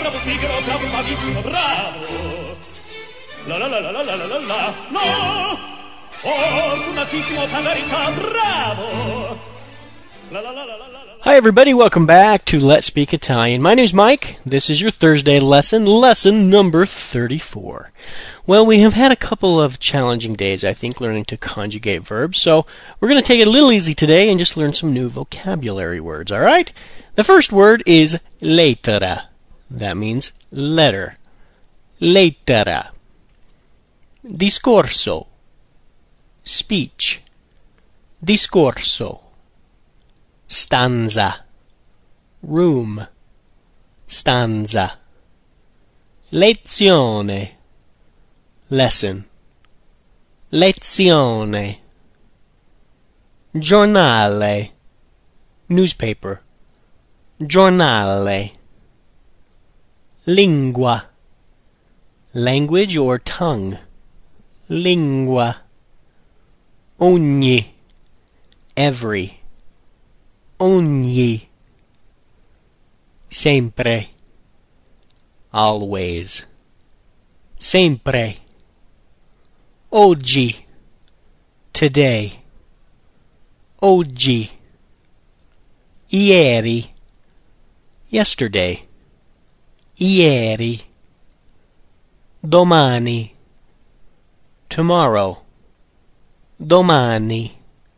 bravo pigro, bravo bravissimo, bravo. La la la la la la la la la. No! Fortunatissimo per verità, bravo. La la la la la la. Hi everybody, welcome back to Let's Speak Italian. My name's Mike. This is your Thursday lesson number 34. Well, we have had a couple of challenging days, I think, learning to conjugate verbs, so we're going to take it a little easy today and just learn some new vocabulary words, alright? The first word is lettera. That means letter. Lettera. Discorso. Speech. Discorso. Stanza. Room. Stanza. Lezione. Lesson. Lezione. Giornale. Newspaper. Giornale. Lingua. Language or tongue. Lingua. Ogni. Every. Ogni. Sempre. Always. Sempre. Oggi. Today. Oggi. Ieri. Yesterday. Ieri. Domani. Tomorrow. Domani.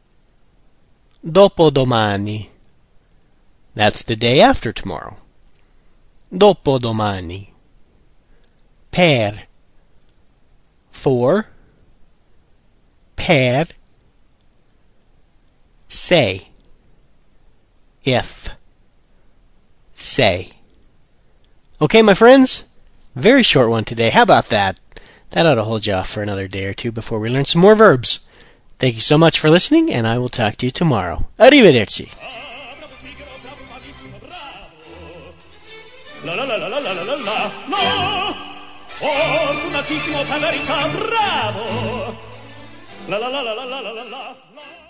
Dopodomani. That's the day after tomorrow. Dopodomani. Per. For. Per. Say. If. Say. Okay, my friends? Very short one today. How about that? That ought to hold you off for another day or two before we learn some more verbs. Thank you so much for listening, and I will talk to you tomorrow. Arrivederci. La la la la la la la la la. No! Fortunatissimo per verità, bravo. La la la la la la la la la.